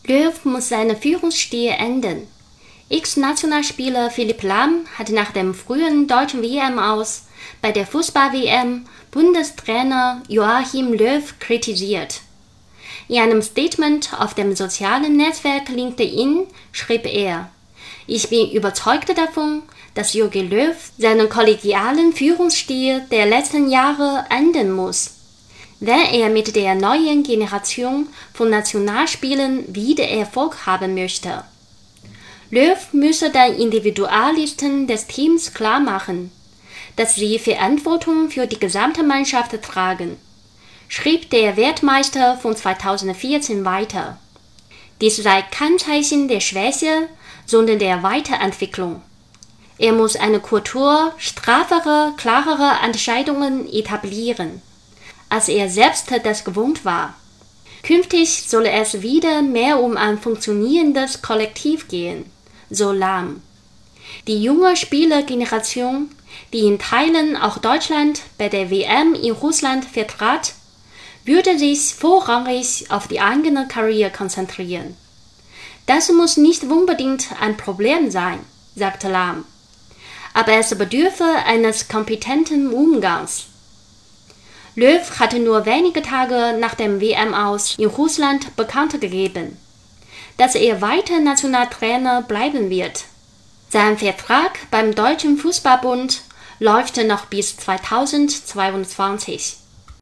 Löw muss seinen Führungsstil ändern. Ex-Nationalspieler Philipp Lahm hat nach dem frühen deutschen WM-Aus bei der Fußball-WM Bundestrainer Joachim Löw kritisiert. In einem Statement auf dem sozialen Netzwerk LinkedIn schrieb er: Ich bin überzeugt davon, dass Jogi Löw seinen kollegialen Führungsstil der letzten Jahre ändern muss, wenn er mit der neuen Generation von Nationalspielern wieder Erfolg haben möchte. Löw müsse den Individualisten des Teams klarmachen, dass sie Verantwortung für die gesamte Mannschaft tragen, schrieb der Weltmeister von 2014 weiter. Dies sei kein Zeichen der Schwäche, sondern der Weiterentwicklung. Er muss eine Kultur strafferer, klarerer Entscheidungen etablieren, als er selbst das gewohnt war. Künftig solle es wieder mehr um ein funktionierendes Kollektiv gehen, so Lahm. Die junge Spielergeneration, die in Teilen auch Deutschland bei der WM in Russland vertrat, würde sich vorrangig auf die eigene Karriere konzentrieren. Das muss nicht unbedingt ein Problem sein, sagte Lahm, aber es bedürfe eines kompetenten Umgangs. Löw hatte nur wenige Tage nach dem WM-Aus in Russland bekannt gegeben, dass er weiter Nationaltrainer bleiben wird. Sein Vertrag beim Deutschen Fußballbund läuft noch bis 2022.